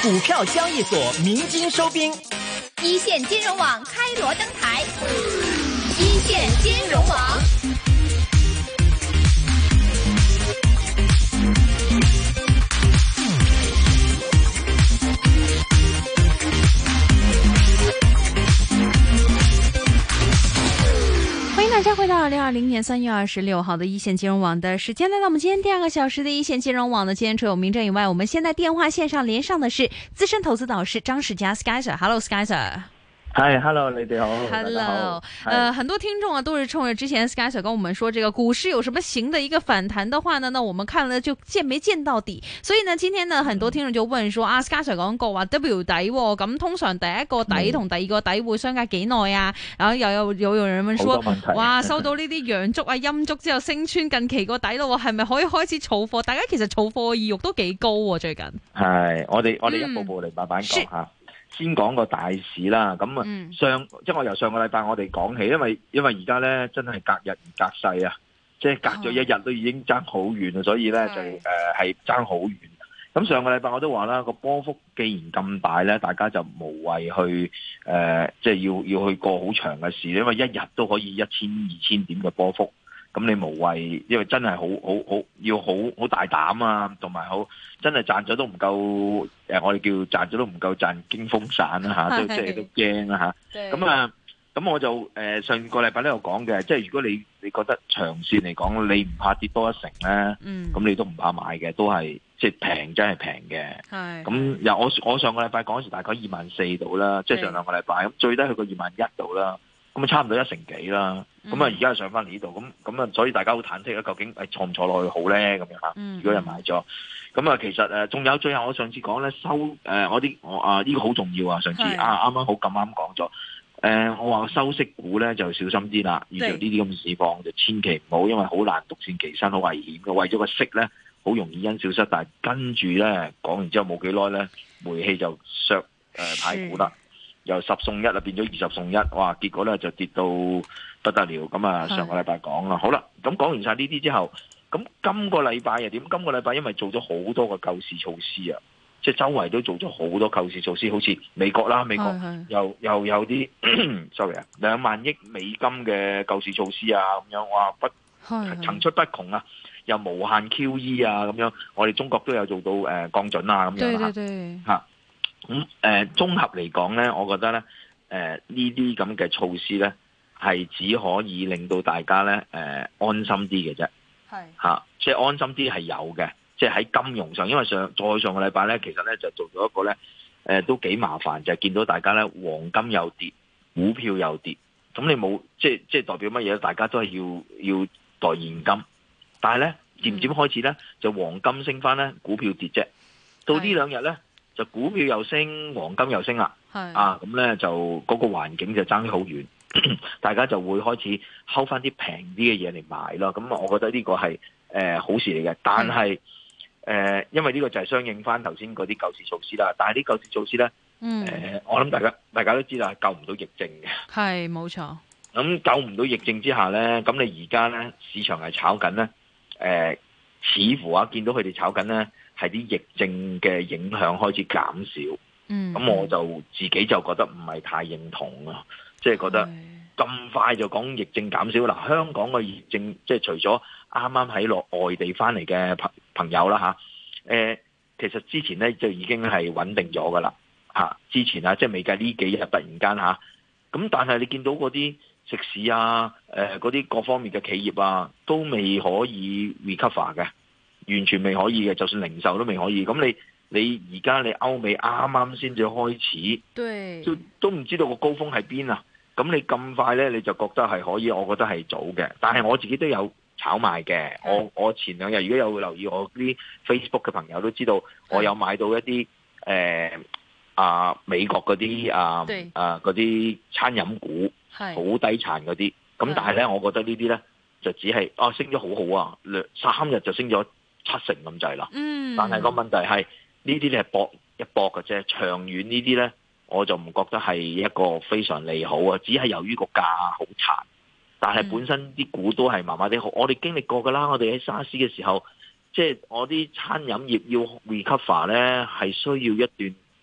股票交易所鸣金收兵， 一線金融網開鑼登台，一線金融網。 欢迎大家回到2020年3月26号的一线金融網的時間，來到我們今天第二個小時的一線金融網呢，今天除有名正以外，我們現在電話線上連上的是資深投資導師張士佳 Sky Sir。Hello Sky Sir。 嗨 ，Hello， 你哋好 ，Hello， 很多聽眾啊都是衝着之前 Sky Sir 跟我們說，這個股市有什麼型的一個反彈的話呢，那我們看了就見沒見到底，所以呢，今天呢，很多聽眾就問說，Sky Sir 講過話 W 底喎，咁通常第一個底同第二個底會相隔幾耐啊？然後有人問說，哇，收到呢啲陽燭啊陰燭之後升穿近期個底咯，係咪可以開始儲貨？大家其實儲貨嘅意欲都幾高喎，最近。 係，我哋一步步嚟慢慢講下。先講個大市啦，咁啊即係我由上個禮拜我哋講起，因為而家咧真係隔日唔隔世啊，即係隔咗一日都已經爭好遠啊，所以咧就係爭好遠。咁上個禮拜我都話啦，個波幅既然咁大咧，大家就無謂去即係要去過好長嘅市，因為一日都可以1000、2000點嘅波幅。咁你無謂，因為真係要好大膽啊，同埋真係賺咗都唔夠，我哋叫賺咗都唔夠賺驚風散啦嚇，即係都驚啦嚇。咁我就上個禮拜都有講嘅，即係如果你覺得長線嚟講，你唔怕跌多一成咧，咁你都唔怕買嘅，都係即係平真係平嘅。咁我上個禮拜講嗰時大概24,000度啦，即係上兩個禮拜，咁最低去過21,000度啦。咁啊，差唔多1成幾啦。咁啊，而家上翻嚟呢度，咁啊，所以大家好忐忑啦。究竟坐唔坐落去好咧？咁樣嚇。如果人買咗，咁啊，其實仲有最後我上次講咧呢個好重要啊。上次啱啱好咁啱講咗。我話收息股咧就小心啲啦。遇着呢啲咁嘅市況就千祈唔好，因為好難獨善其身，好危險嘅。為咗個息咧，好容易因小失大。跟住咧講完之後冇幾耐咧，煤氣就削太股啦。由10送1啊，變咗20送1，哇！結果咧就跌到不得了。咁啊，上個禮拜講啦，好啦，咁講完晒呢啲之後，咁今個禮拜又點？今個禮拜因為做咗好多個救市措施啊，即係周圍都做咗好多救市措施，好似美國啦，美國又有啲sorry 啊，2萬億美金嘅救市措施啊，咁樣哇層出不窮啊，又無限 QE 啊，咁樣我哋中國都有做到降準啊，咁樣嚇。咁綜合嚟講咧，我覺得咧呢啲咁嘅措施咧係只可以令到大家咧安心啲嘅啫，即係安心啲係有嘅，即係喺金融上，因為上個禮拜咧，其實咧就做咗一個咧都幾麻煩，就係見到大家咧黃金又跌，股票又跌，咁你冇即係代表乜嘢？大家都係要袋現金，但係咧漸漸開始咧就黃金升翻咧，股票跌啫，到呢兩日咧。就股票又升，黃金又升啦，咁咧就嗰個環境就爭好遠，大家就會開始睺翻啲平啲嘅嘢嚟買咯。咁我覺得呢個係好事嚟嘅，但係因為呢個就係相應翻頭先嗰啲救市措施啦。但係啲救市措施咧，我諗大家都知道係救唔到疫症嘅， 係冇錯。 咁救唔到疫症之下咧，咁你而家咧市場係炒緊咧，似乎見到佢哋炒緊咧。係啲疫症嘅影響開始減少，咁我就自己就覺得唔係太認同啊，即係覺得咁快就講疫症減少。嗱，香港嘅疫症即係除咗啱啱喺外地翻嚟嘅朋友啦其實之前咧就已經係穩定咗噶啦之前即係未計呢幾日突然間咁但係你見到嗰啲食肆嗰啲各方面嘅企業都未可以 recover 嘅。完全未可以嘅，就算零售都未可以。咁你而家你歐美啱啱先至開始，都唔知道個高峰喺邊啊！咁你咁快咧，你就覺得係可以？我覺得係早嘅。但係我自己都有炒賣嘅。我前兩日如果有留意我啲 Facebook 嘅朋友都知道，我有買到一啲美國嗰啲嗰啲餐飲股，好低殘嗰啲。咁但係咧，我覺得呢啲咧就只係升咗好好啊，3日就升咗7成咁滯啦，但係個問題係呢啲咧係搏一搏嘅啫，長遠呢啲咧我就唔覺得係一個非常利好啊，只係由於個價好殘，但係本身啲股都係麻麻地好。我哋經歷過噶啦，我哋喺沙士嘅時候，即係我啲餐飲業要 recover 咧，係需要一段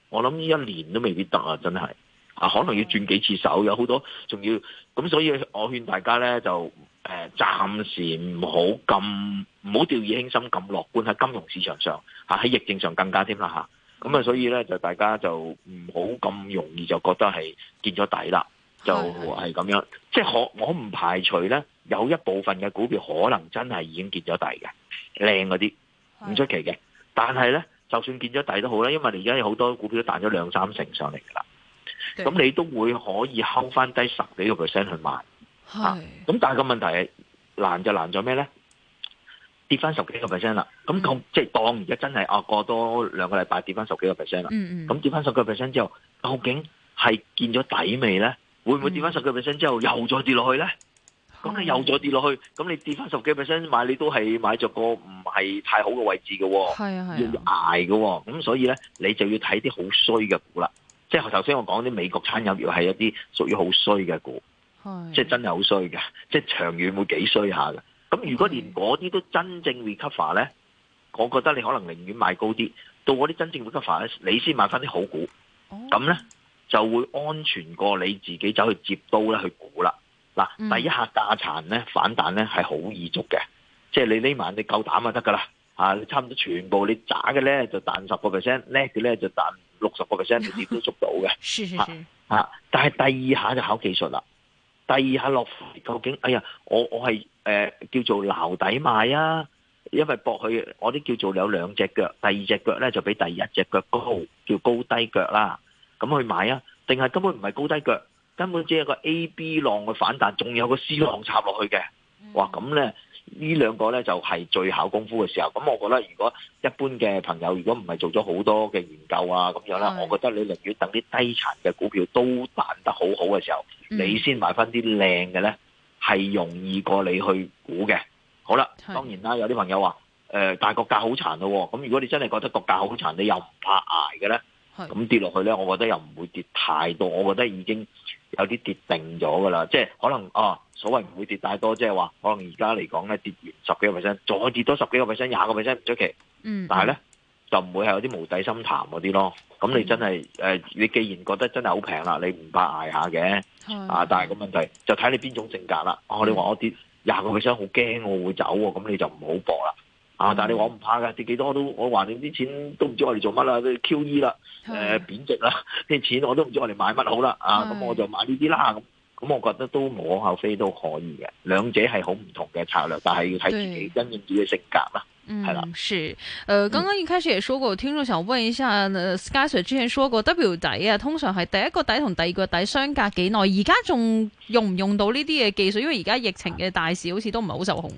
我諗呢一年都未必得啊，真係可能要轉幾次手，有好多仲要咁，所以我勸大家咧就暫時唔好掉以輕心咁樂觀喺金融市場上喺疫症上更加添啦咁啊，所以咧就大家就唔好咁容易就覺得係見咗底啦，就係咁樣。即係我唔排除咧有一部分嘅股票可能真係已經見咗底嘅，靚嗰啲唔出奇嘅。但係咧，就算見咗底都好啦，因為你而家有好多股票都彈咗2-3成上嚟㗎啦，咁你都會可以睺翻低10幾個 percent 去買。咁但係個問題係難就難咗咩咧？跌翻10幾個 percent 啦，咁即係當而家真係過多2個禮拜跌翻10幾個 percent 啦。咁跌翻10幾個 percent 之後，究竟係見咗底未咧？會唔會跌翻10幾個 percent 之後又再跌落去咧？咁你又再跌落去，咁你跌翻10幾個 percent 買，你都係買着個唔係太好嘅位置嘅，要捱嘅。咁所以咧，你就要睇啲好衰嘅股啦。即係頭先我講啲美國餐飲業係一啲屬於好衰嘅股，即係真係好衰嘅，即係長遠會幾衰下嘅。咁如果連嗰啲都真正 recover 咧，我覺得你可能寧願買高啲，到嗰啲真正 recover 咧，你先買翻啲好股，咁咧就會安全過你自己走去接刀咧去估啦。嗱，第一下價殘咧反彈咧係好易捉嘅，即係你呢晚你夠膽就得噶啦，你差唔多全部你渣嘅咧就彈10%，叻嘅咧就彈60%，你點都捉到嘅。但係第二下就考技術啦。第二下落究竟，哎呀，我係叫做撈底買啊，因為搏佢我啲叫做有2隻腳，第2隻腳咧就比第1隻腳高，叫高低腳啦。咁去買啊？定係根本唔係高低腳，根本只係個 A、B 浪嘅反彈，仲有個 C 浪插落去嘅。哇！咁咧呢兩個咧就係最考功夫嘅時候。咁我覺得如果一般嘅朋友如果唔係做咗好多嘅研究啊咁樣啦，我覺得你寧願等啲低殘嘅股票都彈得好好嘅時候，你先買翻啲靚嘅咧，係容易過你去估嘅。好啦，當然啦，有啲朋友話但係個價好殘咯。咁如果你真係覺得個價好殘，你又唔怕捱嘅咧，咁跌落去咧，我覺得又唔會跌太多。我覺得已經有啲跌定咗噶啦，即係可能所謂唔會跌太多，即係話可能而家嚟講咧跌完10幾個 percent，再跌多10幾個 percent、20個 percent 唔出奇。但係咧就唔會係有啲無底深潭嗰啲咯。咁你真係你既然覺得真係好平啦，你唔怕捱下嘅。但係個問題就睇你邊種性格啦。你話我跌20個 percent 好驚我會走喎，咁你就唔好搏啦。但係你話我唔怕㗎，跌幾多都我話你啲錢都唔知我哋做乜啦，啲 QE 啦，貶值啦，啲錢我都唔知我哋買乜好啦。咁我就買呢啲啦。咁我覺得都無可厚非都可以嘅，兩者係好唔同嘅策略，但係要睇自己因應自己嘅性格啦。係啦， 是，剛剛一開始也說過，聽眾想問一下，Sky Sir 之前說過 W 底啊，通常係第一個底同第二個底相隔幾耐？而家仲用唔用到呢啲嘅技術？因為而家疫情嘅大市好似都唔係好受控。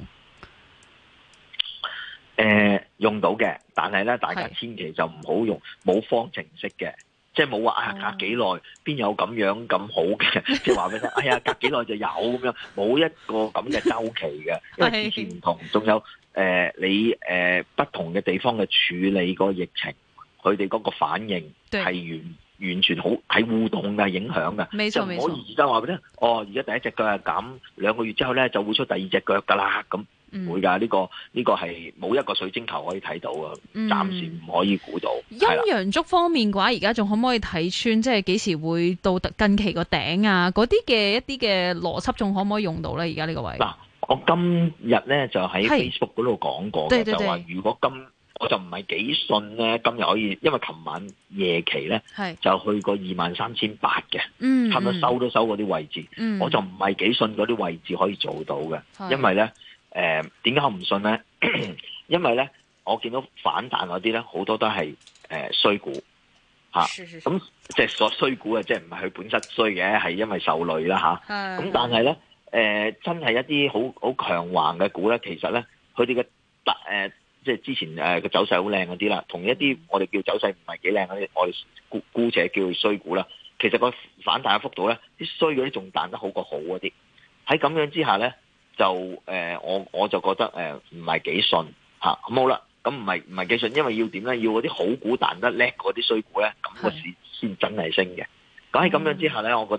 用到嘅，但係咧，大家千祈就唔好用冇方程式嘅，即係冇話隔幾耐邊有咁樣咁好嘅，即係話俾你聽，哎呀隔幾耐就有咁樣，冇一個咁嘅周期嘅，因為之前唔同，仲有你不同嘅地方嘅處理個疫情，佢哋嗰個反應係完全好係互動嘅影響嘅，就唔可以而家話俾你聽，而家第一隻腳係咁，2個月之後咧就會出第2隻腳噶啦咁。唔會㗎，呢個係冇一個水晶球可以睇到啊，暫時唔可以估到。 陰陽燭方面嘅話，而家仲可唔可以睇穿？即係幾時會到近期個頂啊？嗰啲嘅一啲嘅邏輯仲可唔可以用到咧？而家呢個位嗱，我今日咧就喺 Facebook 嗰度講過嘅，就話如果我就唔係幾信咧，今日可以，因為琴晚夜期咧就去過23,800嘅，差唔多收都收嗰啲位置，我就唔係幾信嗰啲位置可以做到嘅，因為咧。點解我唔信咧？因為咧，我見到反彈嗰啲咧，好多都係衰股吓，咁即係所衰股啊，即係唔係佢本身衰嘅，係因為受累啦吓。咁但係咧，真係一啲好強橫嘅股咧，其實咧，佢哋嘅即係之前個走勢好靚嗰啲啦，同一啲我哋叫走勢唔係幾靚嗰啲，我哋姑且叫佢衰股啦。其實個反彈嘅幅度咧，啲衰嗰啲仲彈得好過好嗰啲。喺咁樣之下咧。就我就覺得唔係幾信嚇，咁好啦，咁唔係幾信，因為要點咧？要嗰啲好股彈得叻嗰啲衰股咧，咁個市先真係升嘅。咁喺咁樣之下咧，我覺得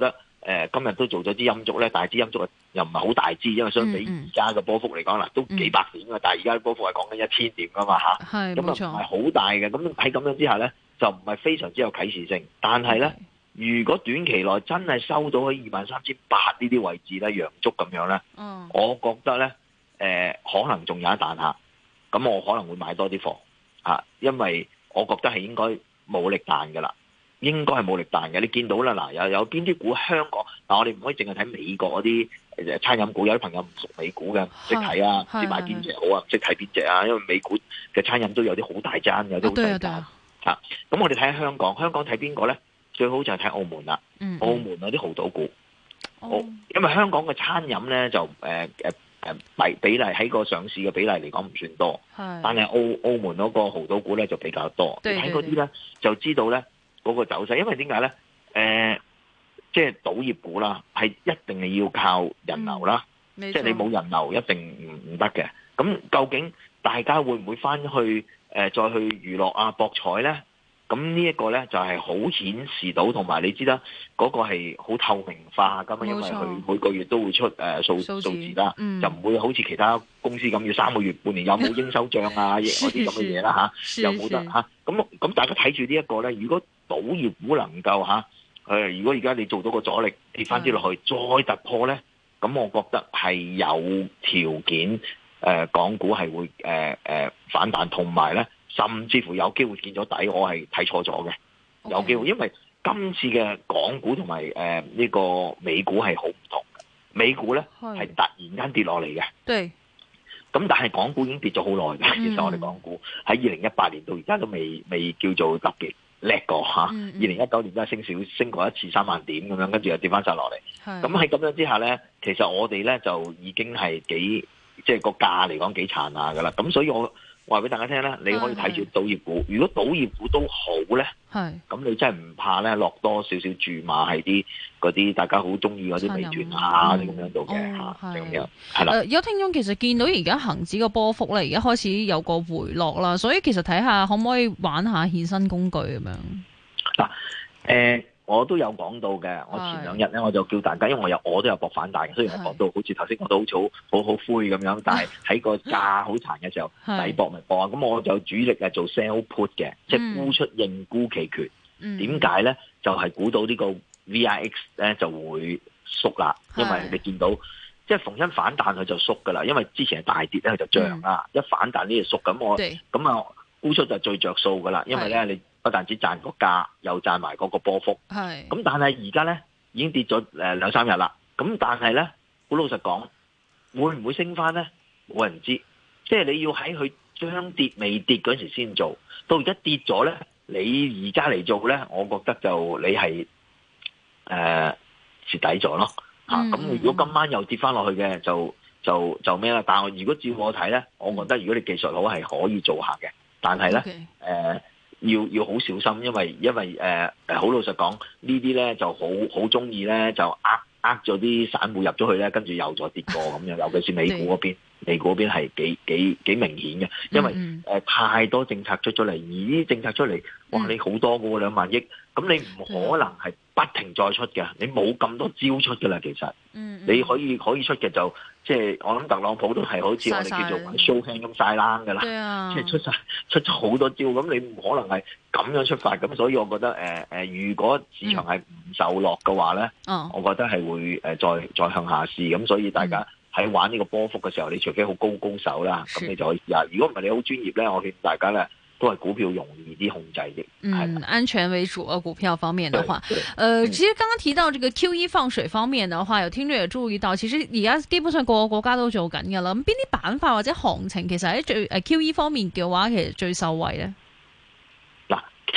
今日都做咗支陰燭咧，但係支陰燭又唔係好大支，因為相比而家嘅波幅嚟講啦，都幾百點㗎，但係而家嘅波幅係講緊1000點㗎嘛嚇，咁啊唔係好大嘅，咁喺咁樣之下咧，就唔係非常之有啟示性。但係咧，如果短期內真係收到喺23,800呢啲位置咧，陽燭咁樣咧，我覺得咧可能仲有一彈下，咁我可能會買多啲貨嚇，因為我覺得係應該冇力彈㗎啦。應該係冇力彈嘅，你見到啦，嗱有邊啲股香港嗱，我哋唔可以淨係睇美國嗰啲餐飲股，有啲朋友唔熟美股嘅，唔識睇啊，唔知買邊隻好啊，唔識睇邊隻啊，因為美股嘅餐飲都有啲好大間，有啲好細間嚇。咁我哋睇下香港睇邊個咧？最好就係睇澳門啦，澳門嗰啲豪賭股，因為香港嘅餐飲咧就比例喺個上市嘅比例嚟講唔算多，但係澳門嗰個豪賭股咧就比較多。你睇嗰啲咧就知道咧。嗰個走勢，因為點解咧？即係賭業股啦，係一定係要靠人流啦。即係你冇人流，一定唔得嘅。咁究竟大家會唔會翻去再去娛樂啊、博彩咧？咁呢一個咧就係好顯示到，同埋你知啦，嗰個係好透明化㗎嘛，因為佢每個月都會出數字啦，就唔會好似其他公司咁要3個月、半年有冇應收帳啊嗰啲咁嘅嘢啦嚇，又冇得嚇。咁大家睇住呢一個咧，如果賭業股能夠如果而家你做到個阻力跌翻啲落去，再突破咧，咁我覺得係有條件港股係會反彈，同埋咧甚至乎有機會見咗底，我係睇錯咗嘅，有機會，因為今次嘅港股同埋呢個美股係好唔同嘅，美股咧係突然間跌落嚟嘅，對，咁但係港股已經跌咗好耐嘅，其實我哋港股喺2018年到而家都未叫做特別叻過嚇，2019年都係升過一次3萬點咁樣，跟住又跌翻晒落嚟。咁喺咁樣之下咧，其實我哋咧就已經係幾即係個價嚟講幾殘下噶啦。咁所以我話俾大家聽咧，你可以睇住賭業股。如果賭業股都好咧，咁你真係唔怕咧落多少少注碼係啲嗰啲大家好中意嗰啲美團啊啲咁樣度嘅嚇，咁樣係啦。 有聽眾其實見到而家恆指個波幅咧，而家開始有個回落啦，所以其實睇下可唔可以玩下衍生工具咁樣。 嗱，我都有講到嘅。我前2日咧我就叫大家，因為我都有搏反彈嘅，雖然係搏到好似頭先我都好灰咁樣，但係喺個價好殘嘅時候，抵搏咪搏啊！咁我就主力係做 sell put 嘅，即係沽出認沽期權。點解咧？就係估到呢個 VIX 咧就會縮啦，因為你見到即係逢親反彈佢就縮噶啦，因為之前係大跌咧佢就漲啦，一反彈呢就縮，咁啊沽出就最着數噶啦，因為咧你不但止賺個價，又賺埋嗰個波幅。咁但係而家咧已經跌咗2-3日啦，咁但係咧好老實講，會唔會升翻咧？冇人知，即係你要喺佢將跌未跌嗰時先做，到而家跌咗咧。你而家嚟做咧，我覺得就你係蝕底咗咯嚇。咁如果今晚又跌翻落去嘅，就咩啦？但係如果照我睇咧，我覺得如果你技術好係可以做下嘅，但係咧要好小心，因為好老實講，呢啲咧就好中意咧就呃咗啲散戶入咗去咧，跟住又再跌過咁樣，尤其是美股嗰邊。美股嗰邊係幾明顯嘅，因為太多政策出咗嚟，而呢啲政策出嚟，哇！你好多嘅喎，2萬億，咁你唔可能係不停再出嘅，你冇咁多招出嘅啦，其實，你可以出嘅就即係我諗特朗普都係好似我哋叫做玩 show hand 咁晒冷㗎啦，即係出咗好多招，咁你唔可能係咁樣出發，咁所以我覺得如果市場係唔受落嘅話咧，我覺得係會再向下試，咁所以大家。喺玩呢個波幅嘅時候，你除非好高手啦，咁你就可以試下。如果唔係你好專業咧，我勸大家咧都係股票容易啲控制嘅。 安全為主啊！股票方面的話，其實剛剛提到這個 QE 放水方面的話，有聽眾也注意到，其實而家基本上個個國家都做緊㗎啦。咁邊啲板塊或者行情其實喺最QE 方面嘅話，其實最受惠咧？ 嗱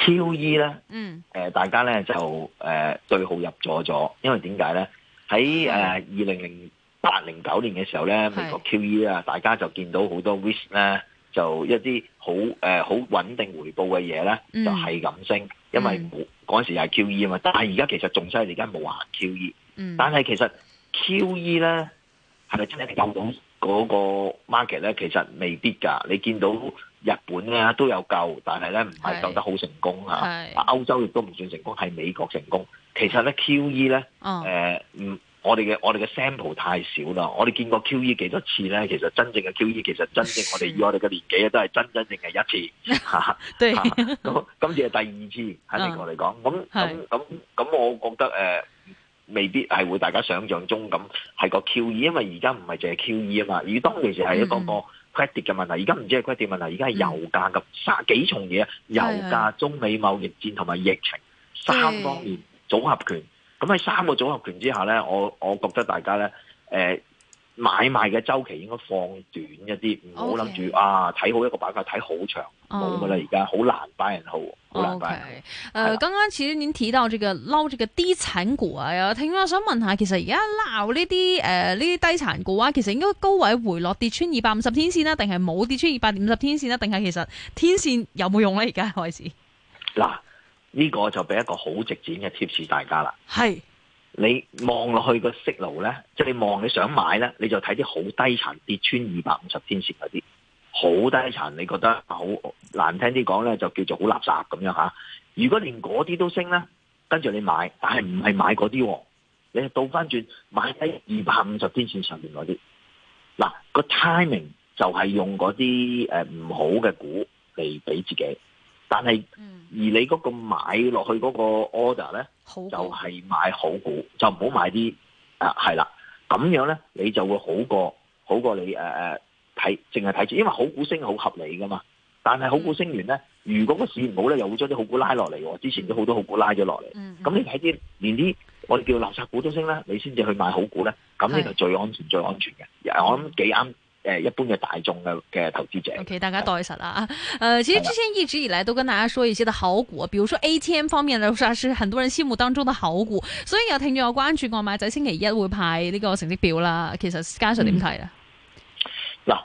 QE 咧，大家咧就對號入座咗，因為點解咧？喺2008-09年嘅時候咧，美國 QE 啊，大家就見到好多 risk 咧，就一啲好穩定回報嘅嘢咧，就係咁升，因為嗰陣時係 QE 啊嘛。但係而家其實仲犀利，而家冇行 QE。但係其實 QE 咧係咪真係救到嗰個 market 咧？其實未必㗎。你見到日本咧都有救，但係咧唔係救得好成功嚇。歐洲亦都唔算成功，係美國成功。 其實咧 QE 咧，我哋嘅 sample 太少啦。我哋見過 QE 幾多次咧？其實真正嘅 QE 其實真正我哋以我哋嘅年紀都係真正係一次嚇。 對， 咁今次係第二次喺美國嚟講。咁我覺得未必係會大家想象中咁係個 QE，因為而家唔係淨係 QE 啊嘛。而當其時係一個 credit 嘅問題，而家唔止係 credit 問題，而家係油價咁幾重嘢，油價、中美貿易戰同埋疫情3方面組合拳。咁喺3個組合拳之下咧，我覺得大家咧，買賣嘅週期應該放短一啲，唔好諗住睇好一個板塊睇好長，冇噶啦，而家好難buy and hold，好難buy。 剛剛其實您提到這個撈這個低殘股啊，有聽我想問下，其實而家撈呢啲低殘股啊，其實應該高位回落跌穿250天線啦，定係冇跌穿250天線啦，定係其實天線有冇用咧？而家開始嗱。呢個就俾一個好直接嘅貼士大家啦。 係你望落去個息路咧，即係你想買咧，你就睇啲好低殘跌穿250天線嗰啲，好低殘，你覺得好難聽啲講咧，就叫做好垃圾咁樣嚇。如果連嗰啲都升咧，跟住你買，但係唔係買嗰啲，你係倒翻轉買喺250天線上面嗰啲。嗱，個 timing 就係用嗰啲唔好嘅股嚟俾自己。但係，而你嗰個買落去嗰個 order 咧，就係買好股，就唔好買啲係啦。咁樣咧，你就會好過你睇，淨係睇住，因為好股升好合理噶嘛。但係好股升完咧，如果個市唔好咧，又會將啲好股拉落嚟喎。之前都好多好股拉咗落嚟。咁你睇啲連啲我哋叫垃圾股都升咧，你先至去買好股咧，咁呢個最安全嘅。我諗幾啱。一般嘅大眾嘅投資者 ，OK， 大家袋實啦。其實之前一直以來都跟大家說一些的好股，比如說 ATM 方面呢，是很多人心目當中的好股。所以有聽眾有關注外賣仔星期一會派呢個成績表啦。其實加上點睇咧？ 嗱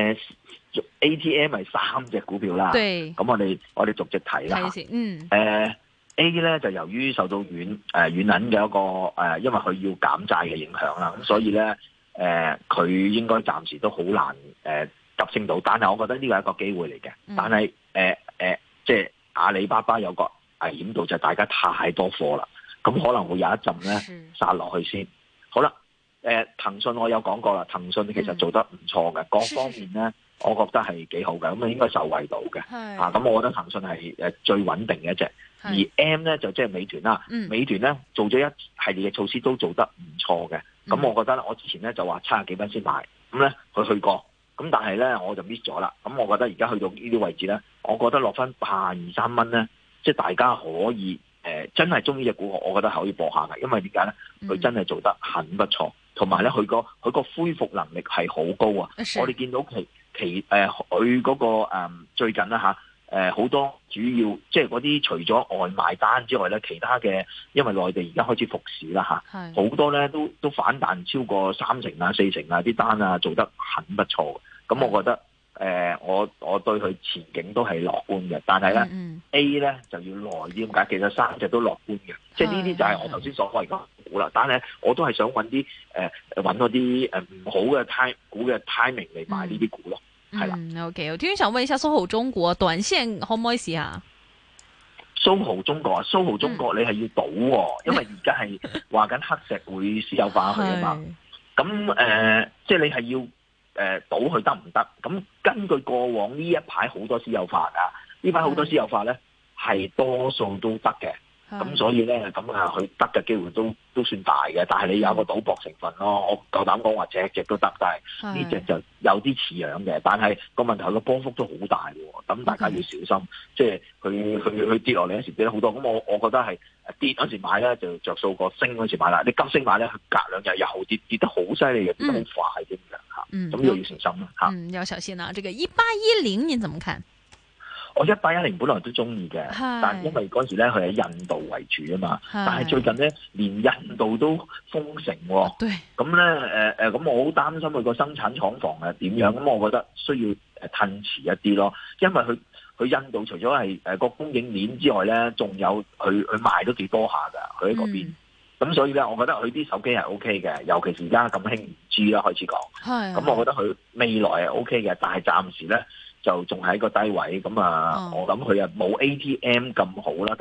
，ATM 係3隻股票啦。對。咁我哋逐隻睇啦。睇 A 咧就由於受到軟銀嘅一個因為佢要減債嘅影響啦，咁所以咧。佢應該暫時都好難急升到，但係我覺得呢個係一個機會嚟嘅。但係即係阿里巴巴有個危險度就係大家太多貨啦，咁可能會有一陣咧殺落去先。好啦，騰訊我有講過啦，騰訊其實做得唔錯嘅，各方面咧我覺得係幾好嘅，咁啊應該受惠到嘅。咁我覺得騰訊係最穩定嘅一隻。而 M 咧就即係美團啦，美團咧做咗一系列嘅措施都做得唔錯嘅。咁我覺得我之前咧就話70幾蚊先買，咁咧佢去過，咁但係咧我就 miss 咗啦。咁我覺得而家去到呢啲位置咧，我覺得落翻82、3蚊咧，即係大家可以真係中意隻股，我覺得係可以搏下嘅，因為點解咧？佢真係做得很不錯，同埋咧佢個恢復能力係好高啊！我哋見到佢嗰個最近啦嚇。好多主要即係嗰啲除咗外賣單之外咧，其他嘅因為內地而家開始復市啦嚇，好多咧都反彈超過3成啊、4成啊，啲單啊做得很不錯。咁我覺得我對佢前景都係樂觀嘅，但係咧 A 咧就要耐啲咁解。其實3隻都樂觀嘅，即係呢啲就係我頭先所謂嘅股啦。但係我都係想揾啲揾嗰啲唔好嘅股嘅 timing 嚟買呢啲股咯。 OK， 我聽想問一下蘇豪中國短線可唔可以試下？ 蘇豪中國你係要賭喎，因為而家係話緊黑石會私有化佢啊嘛。咁即係你係要賭佢得唔得？咁根據過往呢一排好多私有化㗎，呢排好多私有化咧係多數都得嘅。咁所以咧，咁佢得嘅機會都算大嘅，但係你有個賭博成分咯。我夠膽講話隻都得，但係呢隻就有啲似樣嘅。但係個問題個波幅都好大喎，咁大家要小心。即係佢跌落嚟嗰時跌得好多，咁我覺得係跌嗰時買咧就着數過升嗰時買啦。你急升買咧，佢隔2日又跌得好犀利嘅，跌得好快嘅嚇。咁要小心啦嚇。 要小心啊！這個1810，你怎麼看？ 我1810本來都中意嘅，但係因為嗰時咧佢喺印度為主啊嘛，但係最近咧連印度都封城喎，咁咧咁我好擔心佢個生產廠房係點樣，咁我覺得需要褪遲一啲咯，因為佢印度除咗係個供應鏈之外咧，仲有佢賣都幾多下㗎，佢喺嗰邊，咁所以咧我覺得佢啲手機係 OK 嘅，尤其是而家咁興5G啦開始講，咁我覺得佢未來係 OK 嘅，但係暫時咧就仲喺個低位，咁我諗佢冇 ATM 咁好啦，但係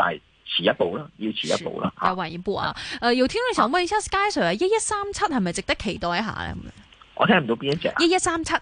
遲一步啦，要遲一步啦。 再晚一步啊！有聽眾想問一下 Sky Sir 啊，1137係咪值得期待一下咧？ 我聽唔到邊一隻啊 ？1137。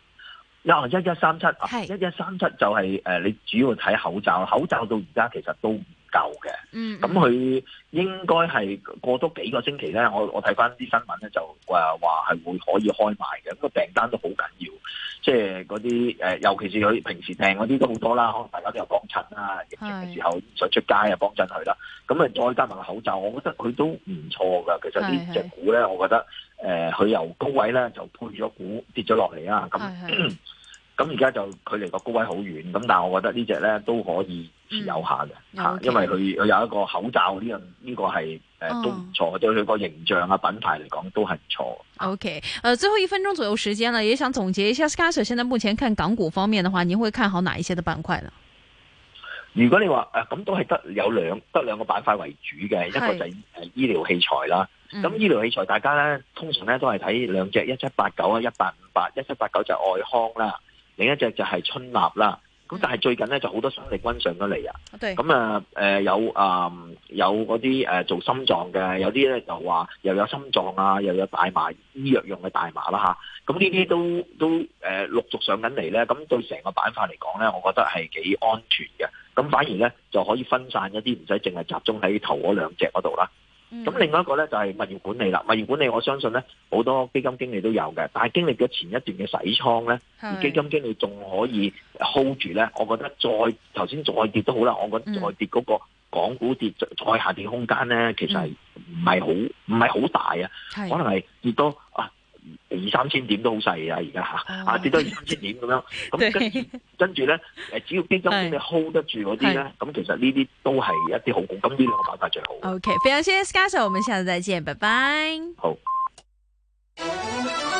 1137係1137就係你主要睇口罩，口罩到而家其實都唔夠嘅。咁佢應該係過多幾個星期咧，我睇翻啲新聞咧就話係會可以開賣嘅。咁個訂單都好緊要，即係嗰啲尤其是佢平時訂嗰啲都好多啦，可能大家都有幫襯啦，疫情嘅時候想出街啊幫襯佢啦。咁啊再加埋個口罩，我覺得佢都唔錯噶。其實呢隻股咧，我覺得佢由高位咧就配咗股跌咗落嚟啊。咁而家就距離個高位好遠，咁但係我覺得呢隻咧都可以持有下嘅，因為佢有一個口罩呢個係都唔錯，對佢個形象啊品牌嚟講都係唔錯。 OK， 最後1分鐘左右時間啦，也想總結一下 Sky Sir 現在目前看港股方面的話，你會看好哪一些的板塊呢？ 如果你話咁都係得兩個板塊為主嘅，一個就係醫療器材啦。咁醫療器材大家咧通常咧都係睇兩隻1789啊1858，1789就係愛康啦。另一隻就係春立啦，咁但係最近咧就好多生力軍上咗嚟啊，咁有嗰啲做心臟嘅，有啲咧就話又有心臟啊，又有大麻醫藥用嘅大麻啦嚇，咁呢啲都陸續上緊嚟咧，咁對成個板塊嚟講咧，我覺得係幾安全嘅，咁反而咧就可以分散一啲，唔使淨係集中喺頭嗰兩隻嗰度啦。咁另外一個咧就係物業管理啦，物業管理我相信咧好多基金經理都有嘅，但係經歷咗前一段嘅洗倉咧，而基金經理仲可以 hold 住咧，我覺得頭先再跌都好啦，我覺得再跌嗰個港股跌再下跌空間咧，其實係唔係好大啊，可能係跌多2-3千點都好細啊，而家跌多2-3千點咁樣，咁跟住咧只要基金經理 hold 得住嗰啲咧，咁其實呢啲都係一啲好股，咁呢兩個板塊最好。 OK， 非常謝謝 Sky Sir，我們下次再見，拜拜。 好。